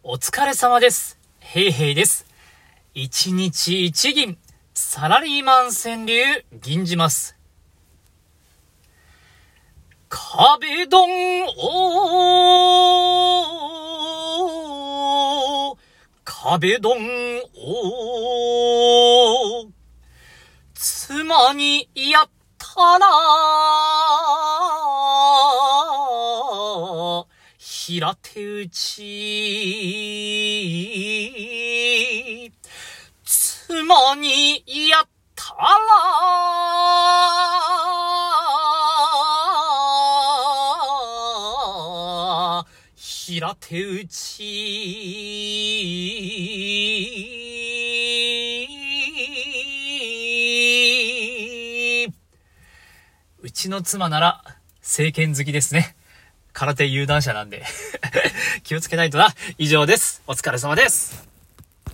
お疲れ様です。ヘイヘイです。一日一銀、サラリーマン川柳、銀じます。壁ドン壁ドン妻にやったら平手打ち妻にやったら平手打ちうちの妻なら正拳好きですね。空手有段者なんで気をつけないとな。以上です。お疲れ様です。